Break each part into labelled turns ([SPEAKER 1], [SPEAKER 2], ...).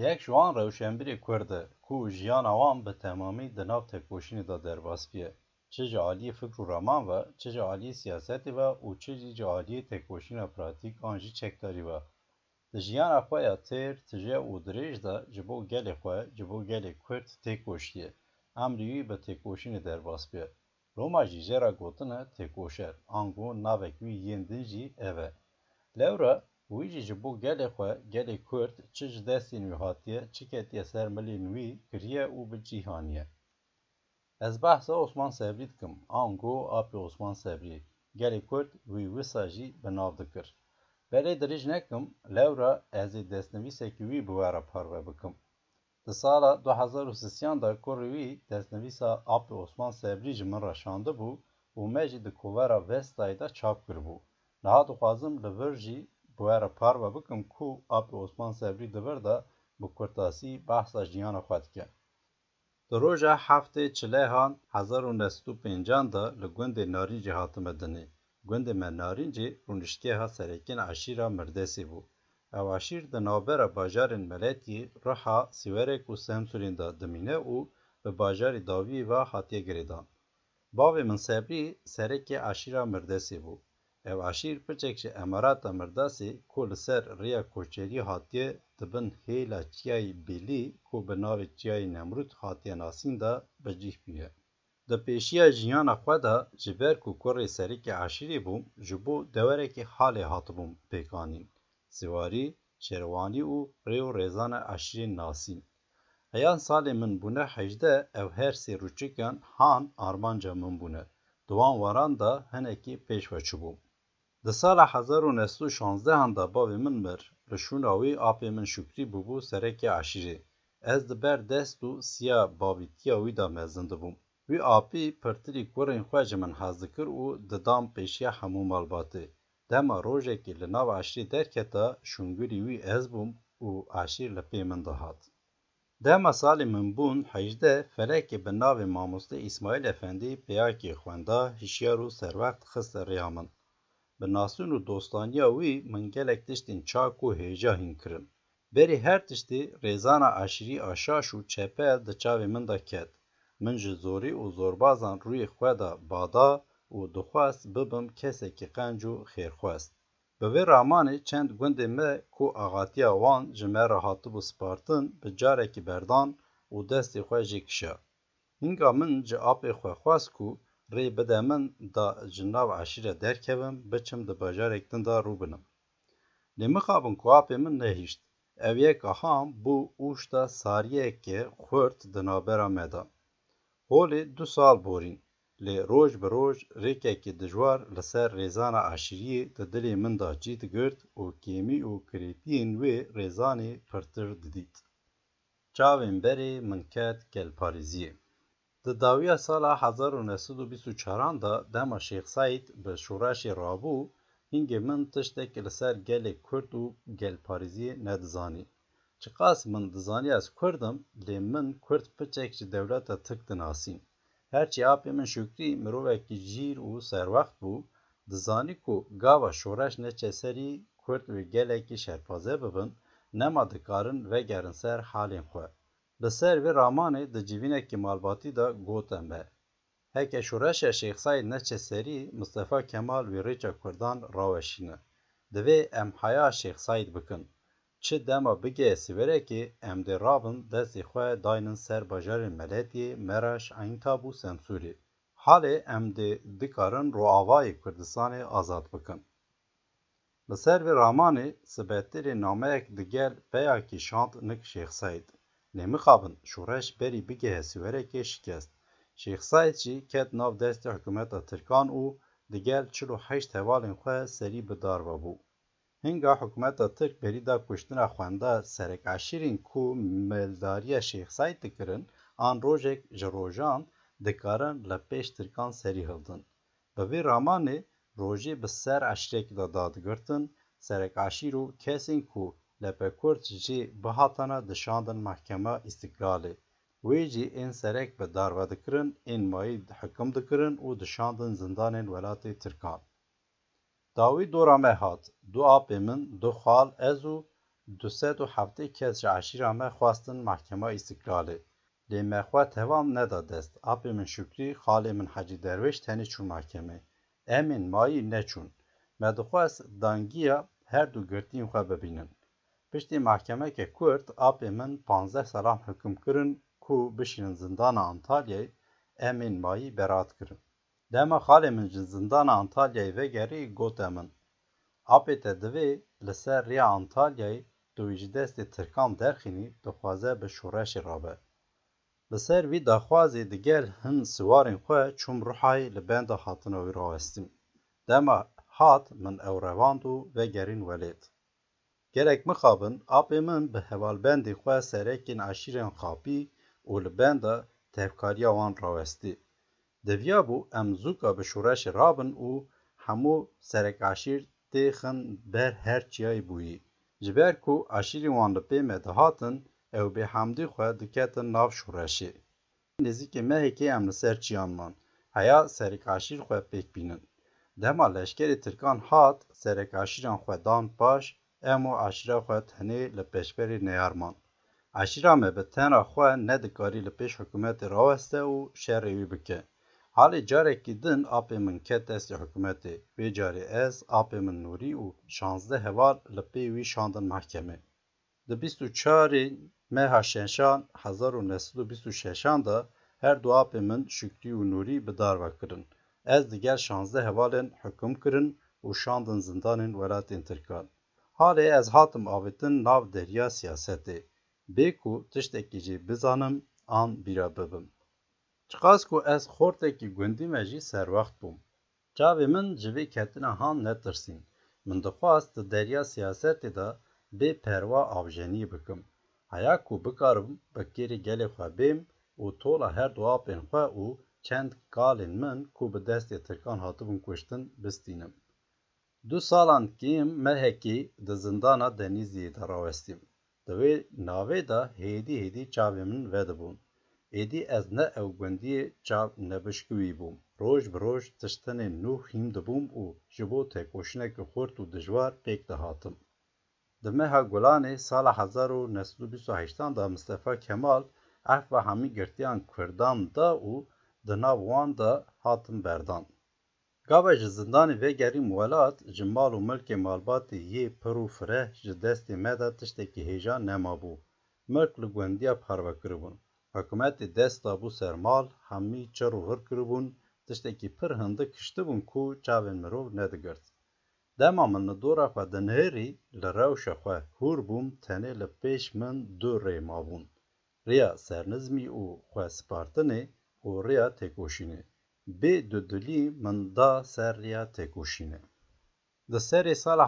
[SPEAKER 1] یک جوان روشنبیر کرد کو ژیان وان به تمامی د ناو تکوشینی دا درباسپیه چه جعالی فکر و رمان و چه جعالی سیاستی و او چه جعالی تکوشین پراتیک آنجی چکداری و د ژیان خواه تیر تجه او دریج دا جبو گل خواه جبو گل کرد تکوشیه امریوی به تکوشین درباسپیه روما جیجه را گوتنه تکوشر آنگو ناوکوی یندنجی اوه لورا ویجی جبو گل خواه گل کرد چه جدستی نوی هاتیه چه کتیه سر ملی نوی کریه او به جیهانیه از بحث عثمان صبری دکم آنگو آپی عثمان صبری گل کرد وی وساجی بناو دکر بله دریج نکم لورا از دستنویسه که وی بواره پروه بکم د سالا 2003 دا کوروی دستنویسا آپی عثمان صبری جمن راشانده بو و مجی د کوورا وستای دا چاپ کربو نها دخوازم لورجی بواره پروه بکم کو آپی عثمان صبری دور دا bu kurtasi bahsa jiyana xwe dike. Di roja heftê çilehan 1950 da li gundê Narîncê hatime dinê. Gundê me Narîncê rûniştgeha serekên eşîra Mirdesê bû. Ew eşîr di navbera bajarên Meletiyê, Riha, Sîwerek û Semsûrên da dimîne û bi bajarê Dawiyê ve hatiye girêdan. Bavê min Sebrî serekê eşîra Mirdesê bû. Ev eşîr piçek ji Emirata Mirdasê ku li ser rêya koçerî hatiye dibin hêla çiyayê Bêlî ku bi navê çiyayê Nemrûd hatiye nasîn da bicih bûye. Di pêşiya jiyana xwe de ji ber ku kurê serekê eşîrê bûm ji bo dewerekê halê hatibûm pêkanîn. Siwarî, şerwanî û rê û rêzana eşîrên nasîn. Heyan salê min bûne 18 ev her sê rûçikan han armanca min bûne. Di wan waran da hinekî pêş ve çûbûm. Di sala 1916 da bavê min mir, li şûna wê apê min Şükrî bûbû serekê eşîrê. Ez di ber dest û siya bavîtiya wî da mezin dibûm. Wî apî pirtirî kurên xwe ji min hez dikir û didam pêşiya hemû malbatê. Dema rojekê li nav eşîrê derketa şûngirî wî ez bûm û eşîr li pê min dihat. Dema salê min bûn 18 felekê bi navê Mamoste İsmaîl Efendî peyakê xwenda hişyar û serwext xiste rêya min. Bi nasûn û dostaniya wî min gelek tiştên çak û hêja hîn kirin. Berî her tiştî rêzana eşîrî a şaş û çepel di çavê min de ket. Min ji zorî û zorbazan rûyê xwe da bada û dixwast bibim kesekî qenc û xêrxwest. Bi vê ramanê çend gundê me ku axatiya wan ji me re hatibû spartin bi carekî berdan û destê xwe jê kişa. Hinga min ji apê xwe xwast ku rê bide min da ji nav eşîre derkevim biçim di bajarek din da rû binim. Lê mixabin ku apê min nehîşt. Ev yek aham bû ûşta sariyekê xurt di navbera me da. Holê 2 sal borîn. Lê roj bi roj rêkekî dijwar li ser rêzana eşîriyê di dilê min da cî digirt û kêmî û kirêtiyên wê rêzanê pirtir didît. Çavên berê min ket gelparêziyê. Di dawiya sala 1924 da dema Şêx Saîd bi şoreşê rabû, hingê min tiştekî li ser gelê Kurd û gelparêziyê nedizanî. Çiqas min dizanî ez Kurdim, lê min Kurd piçek ji dewleta Tirk dinasîn. Herçî apê min Şükrî mirovekî jîr û serwext bû, dizanî ku gava şoreş neçe serî Kurd wê gelekî şerpaze bibin, nema dikarin vegerin ser halên xwe. Li ser vê ramanê di civînekî malbatî da got em e. Heke şoreşa Şêx Saîd neçe serî, Mustefa Kemal wê rêça Kurdan raweşîne. Divê em heya Şêx Saîd bikin. Çi dema bigê Sîwerekê em dê rabin destê xwe daynin ser bajarên Meletiyê, Meraş, Eyntab û Semsûrê. Halê em dê dikarin roavayê Kurdistanê azad bikin. Li ser vê ramanê sibetêrê nameyek digel peyakî şand nik Şêx Saîd. Lê mixabin şoreş berî bigêhe Sîwerekê şikest. Şêx Saîd jî ket nav destê hikûmeta Tirkan û digel 48 hevalên xwe serî bi dar ve bû. Hinga hikûmeta Tirk berî da kuştina xwenda serek eşîrên ku meldariya Şêx Saîd dikirin, an rojek ji rojan dikarin li pêş Tirkan serî hildin. Bi vê ramanê rojê bi ser eşîrekê da dadigirtin, serek eşîr û kesên ku Lepekurd jê bihatine dişandin Mehkema İstiklalê. Wê jî ên serek bi dar ve dikirin, ên mayî hikim dikirin û dişandin zindanên welatê Tirkan. Dawî dora me hat. Du apê min, du xal, ez û 207 kes ji eşîra me xwastin Mahkema İstiqlalê. Lê me xwe tevam neda dest. Apê min Şükrî, xalê min Hecî Derweş tenê çûn mahkemê. Em ên mayî neçûn. Me dixwest dangiya her du girtiyên xwe bibînin. Piştî mahkemeke Kurd apê min 15 salan hukm kirin ku bişînin zindana Antalyayê, em ên mayî beraat kirin. Dema xalê min ji zindana Antalyayê vegerî gote min. Apê te divê li ser rêya Antalyayê tu wî ji destê Tirkan derxînî dixwaze bi şoreşê rabe. Li ser vî daxwazê digel hin siwarên xwe çûm Rihayê li benda hatina wî rawestîn. Dema hat min ew revand û vegerîn welêt. Gelek mixabin, apê min bi hevalbendê xwe serekên eşîrên xapî û li benda tevkariya wan rawestî. Deviya bû em zûka bi şoreşê rabin û hemû serekeşîr têxin ber her çiyayê bûyî. Ji ber ku eşîrên wan li pê me dihatin, ew bêhemdî xwe diketin nav şoreşê. Nêzîkî mehekê em li ser çiyan man, heya serekeşîr xwe pêk bînin. Dema leşkerê Tirkan hat, serekeşîran xwe dan paş, em û eşîra xwe tenê li pêşberê neyarman. Eşîra me bi tena xwe nedikarî li pêş hikûmetê raweste û şerê wî bike. Halê carekî din apê min ket destê hikûmetê, vê carê ez, apê min Nûrî û 16 heval li pê wî şandin mahkemê. Di 24 meha şeşan 1926 da her du apê min Şükrî û Nûrî bi dar ve kirin. Ez digel 16 hevalên hukm kirin û şandin zindanên welatên Tirkan. Halê ez hatim avêtin nav deriya siyasetê. Bê ku tiştekî jî bizanim an bîra bibim. Çiqas ku ez xortekî gundî me jî serwext bûm. Çavê min ji vê ketina han netirsîn. Min dixwast di deriya siyasetê de bê perwa avjeniyê bikim. Heya ku bikarim bi kêrê gelê xwe bêm û tola her du apên xwe û çend kalên min ku bi destê Tirkan hatibûn kuştin bistînim. 2 salan kêm mehekê di zindana Denîzliyê de rawestîm. Di wê navê de hêdî çavê min vedibûn. Êdî ez ne ew gundiyê çav nebişkivî bûm. Roj bi roj tiştinên nû hîm dibûm û ji bo têkoşînekî xurt û dijwar pêk dihatim. Di meha Gulanê sala 1928 da Mustefa Kemal ev hemî girtiyan Kurdan da û di nav wan de hatin berdan. Gava ji zindanê vegerîm welat, ji mal û milkê malbatê yê pir û fireh ji destê me de tiştekî hêja nemabû. Milk li gundiya parve kiribûn. Hikûmetê dest dabû ser mal, hemî çir û hir kiribûn, tiştekî pir hindik kiştibûn ku çavên mirov nedigirt. Dema min li dora xwe di nihêrî, li rewşa xwe hûr bûm, tenê li pêş min du rê mabûn. Rêya sernizmî û xwespartinê û rêya têkoşînê. Bê dudilî min da ser rêya têkoşînê. Di serê sala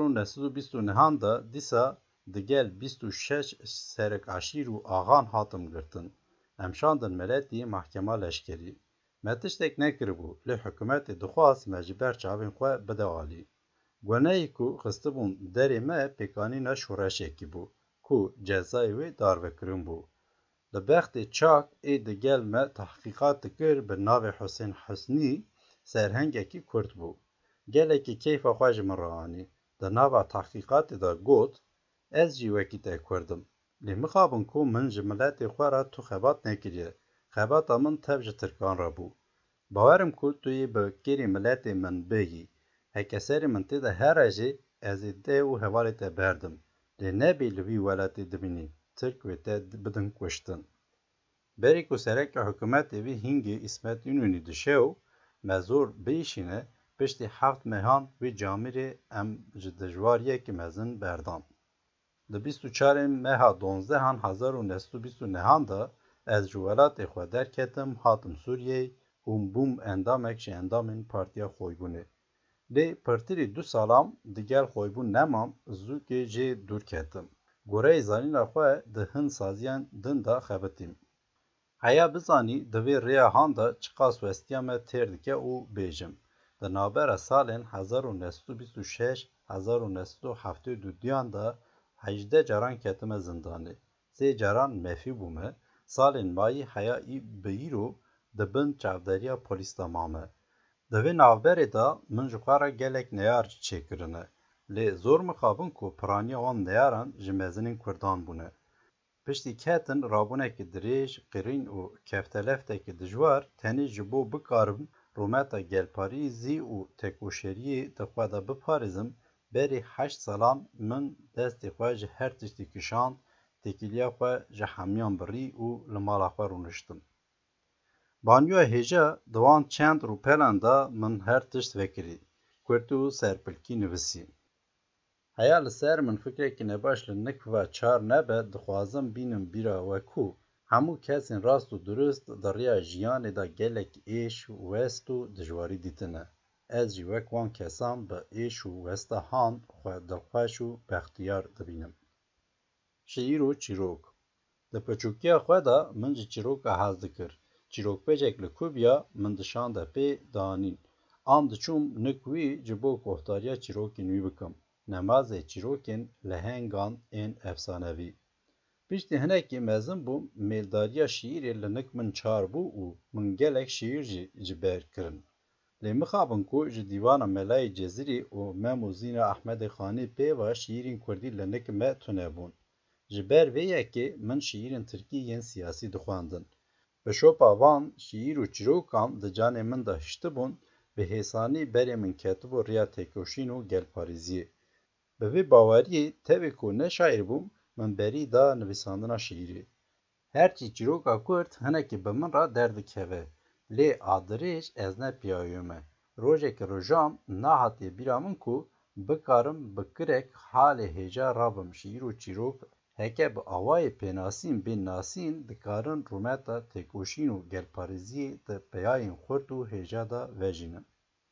[SPEAKER 1] 1929 da dîsa digel 26 serekeşîr û axan hatim girtin. Em şandin meletî mahkema leşkerî. Me tiştek nekiribû, lê hikûmetê dixwast me ji ber çavên xwe bide alî. Gunehê ku xistibûn derê me pêkanîna şoreşekî bû, ku cezayê wê darvekirin bû. Li bextê çak ê digel me tehqîqat dikir bi navê Husên Husnî, serhengekî Kurd bû. Gelekî keyfa xwe ji min raanî. Di nava tehqîqatê de got, ez jî wekî te Kurdim. Lê mixabin ku min ji miletê xwe re tu xebat nekiriye. Xebata min tev ji Tirkan re bû. Bawerim ku tu yê bi kêrê miletê min bihî. Hekeserê min tê de here jî ez ê dê û hevalê te berdim. Lê nebê li vî welatê dibînî. Tirk wê te bidin kuştin. Berê ku sereke hikûmetê wî hîngê İsmet İnönü dişew, me zor bêşîne, piştî 7 mehan wê camirê em ji dijwariyekî mezin berdan. Di 24 meha 12 1929 da ez ji welatê xwe derketim, hatim Sûriyeyê û bûm endamek ji endamên Partiya Xoybûnê. Lê pirtirî 2 salam digel xoybûn nemam, zûkê jê dûr ketim. Goreyê zanîna xwe di hin saziyan din da xebitîm. Heya bizanî di vê rêya han da çiqas westiya me têr dike û bêjim. Di navbera salên 1926-1972 da 18 caran ketime zindanê. 3 caran mefî bûme, salên mayî heya bi îro dibin çavderiya polîs da mame. Di vê navberê da min ji xwe re gelek neyar çêkirine. Lê zor mixabin ku piraniya wan neyaran ji mezinên Kurdan bûne. Piştî ketin rabûnekî dirêj, qirîn û kefteleftekî dijwar tenê ji bo bikarim rûmeta gelparîzî û tekoşeriyê di xwe de biparêzim, berê 8 salan min destê xwe ji her tiştî kişand, têkiliya xwe ji hemiyan birî û li mala xwe rûniştim. Banyoya hêja di wan çend rûpelan de min her tişt vekirî, kurtî û serpilkî nivîsî. Heya li ser min fikrekî nebaş li nik ve çar nebe, dixwazim bînim bîra we ku hemû kesên rast û durist di rêya jiyanê de gelek êş, west û dijwarî dîtine. Ez jî wek wan kesan bi êş û westa hand xwe dilxweş û bextiyar dibînim. Şîîr û çîrok. Di piçûkiya xwe de min ji çîroka hez dikir. Çîrokbêjek li Kubiya min dişande pê danîn. An diçûm nik wî ji bo guhdariya çîrokên wî bikim. Nemazê çîrokên lehengan ên efsanevî. Piştî hinekî mezin bûm, mêldariya şîîrê li nik min çar bû û min gelek şîîr jî ji ber kirin. Lê mixabin ku ji dîwana Melayê Cezîrî û Memûzîna Ehmedê Xanî pêva şîîrên Kurdî li nik me tune bûn. Ji ber vê yekê min şîîrên Tirkî yên siyasî dixwandin. Bi şopa van şîîr û çîrokan di canê min de hiştibûn, bi hêsanî berê min ketibû rêya têkoşîn û gelparîziyê. Bi vê baweriyê tevê ku ne şaîr bûm, min berî da nivîsandina şîîrê. Herçî çîroka Kurd hinekî bi min re derdikeve, lê adirêj ez ne piyayome. Rojekê rojam nehatiye bîra min ku bikarim bi kirek halê hêja rabim şîîr û çîrok heke bi awayê pênasîn bên nasîn dikarin rûmeta têkoşîn û gelparîziyê di peyayên xurt û hêja de vejînin.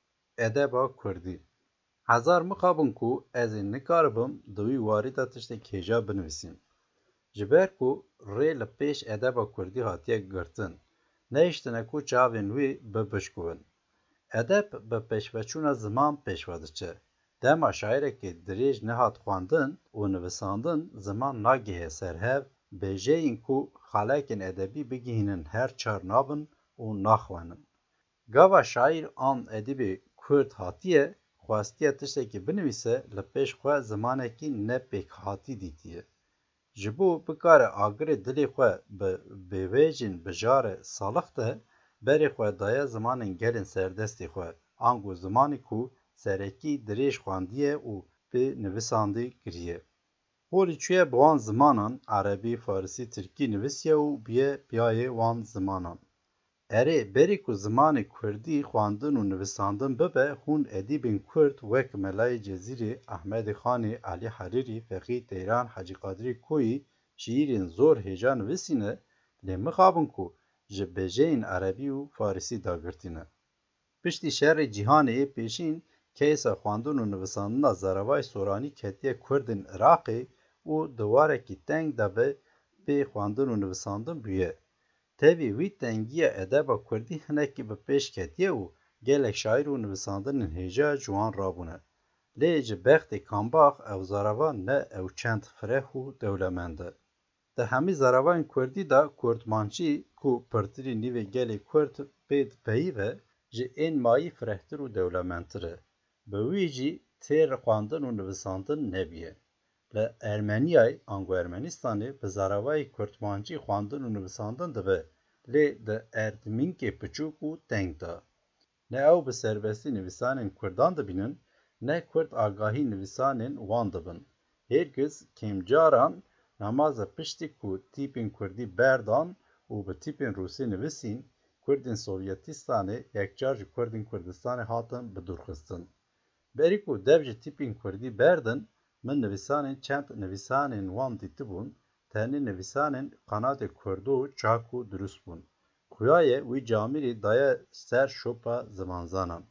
[SPEAKER 1] Edeba Kurdî. Hezar mixabin ku ez ê nikaribim di wî warî de tiştek hêja binivîsim. Ji ber ku rê li pêş edeba Kurdî hatiye girtin, nehîştine ku çavên wê bibişkuvin. Edeb bi pêşveçûna ziman pêşve diçe. Dema şairekê dirêj nehat xwandin û nivîsandin, ziman nagihe ser hev, bêjeyîn ku xelekên edebî bigihînin her çar nabin û naxwenin. Gava şaîr an edîbê Kurd hatiye, xwastiye tiştekî binivîse, li pêş xwe zimanekî ne pêkhatî dîtiye. Ji bo bikare agirê dilê xwe bi bêwêjên bijare salix de, berê xwe daye zimanên gelên serdestê xwe, ango zimanê ku serekî dirêj xwandiye û pê nivîsandî kiriye. Holî çûye bi wan zimanan, Erebî, Farsî, Tirkî nivîsiye û bîye piyayê wan zimanan. Erê berî ku zimanê Kurdî xwandin û nivîsandin bibe, hûn edîbên Kurd wek Melayê Cezîrî, Ehmedê Xanî, Elî Herîrî, Feqî Teyran, Hecî Qadirî Koyî şîîrên zor hêja nivîsîne, lê mixabin ku ji bêjeyên Erebî û Farsî dagirtîne. Piştî şerê cîhanê yê pêşîn, keysa xwandin û nivîsandina Zeravay Soranî ketiye Kurdên Iraqê û di warekî teng de be pê xwandin û nivîsandin bûye. Tevî wî tengiya edeba Kurdî hinekî bi pêş ketiye û gelek şaîr û nivîsandinên hêja ji wan rabûne. Lê ji bextê kambax ew zarava ne ew çend fireh û dewlemend e. Di hemî zaravayên Kurdî de Kurdmançî ku pirtirî nîvê gelê Kurd pê dipeyîve, ji ên mayî firehtir û dewlemendtir e. Bi wî jî têr xwandin û nivîsandin nebûye. Li Ermeniyayê ango Ermenistanê bi zaravayê Kurdmançî xwandin û nivîsandin dibe, lê di erdmînkê piçûk û teng de. Ne ew bi serbestî nivîsanên Kurdan dibînin, ne Kurd agahî nivîsanên wan dibin. Hêrgiz kêmcaran nemaze piştî ku tîpên Kurdî berdan û bi tîpên Rûsî nivîsîn, Kurdên Sovyetistanê yekcar ji Kurdên Kurdistanê hatin bidûrxistin. Berî ku dev ji tîpên Kurdî berdin, min nivîsanên çend nivîsanên wan dîtibûn, tenê nivîsanên qenatê Kurdo çak û durust bûn. Xuyaye wî Camîrî daye ser şopa zimanzanan.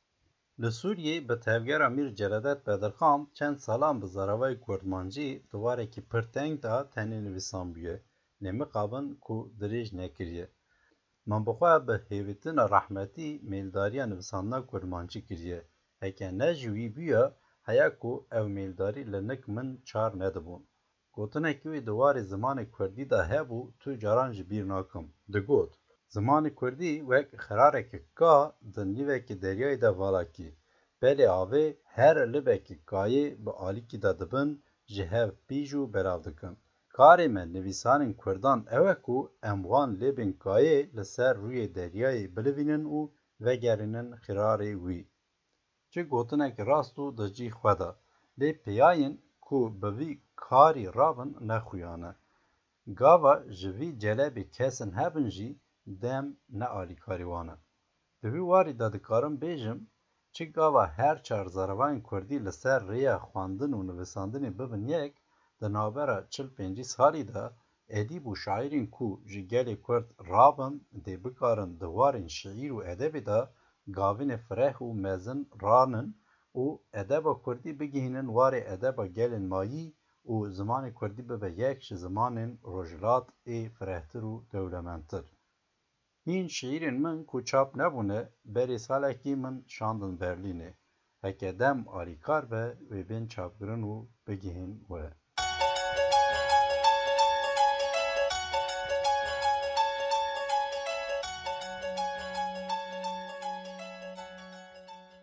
[SPEAKER 1] Li Sûriyê bi tevgera Mîr Celedet Bedirxan çend salan bi zaravayê Kurdmancî di warekî pir teng de tenê nivîsan bûye, lê mixabin ku dirêj nekiriye. Min bixwe bi hêvîtina rehmetî mêldariya nivîsandina Kurdmancî kiriye. Heke ne ji wî bûye, heya ku ew mêldarî li nik min çar nedibûn. Gotinekî wî di warê zimanê Kurdî de hebû, tu caran ji bîr nakim. Digot: Zimanê Kurdî wek xirareke ka di nîvekî deryayê de valakî. Belê avê her libekî gayê bi alîkî de dibin, ji hev pîj û belav dikin. Karê me nivîsanên Kurdan ew e ku em wan lêbên gayê li ser rûyê deryayê bilivînin û vegerînin xirarê wî. Çi gotinek rast û di cî xwe de, lê peyayên ku bi vî karî rabin nexuyane. Gava ji vî celebê kesin hebin jî dem ne alîkarî wan e. Di vî warî de dikarim bêjim, çi gava her çar zarokayên Kurdî li ser rêya xwandin û nivîsandinê bibin yek, di navbera 40-50 salî de edîb û şaîrên ku ji gelê Kurd rabin dê bikarin di warên şîîr û edebê de gavînê fireh û mezin ranin û edeba Kurdî bigihînin warê edeba gelên mayî û zimanê Kurdî bibe yek ji zimanên rojhilat ê firehtir û dewlemendtir. Hîn şîîrên min ku çap nebûne, berê salekî min şandin Berlînê. Heke dem alîkar be wê bên çapkirin û bigihîn we.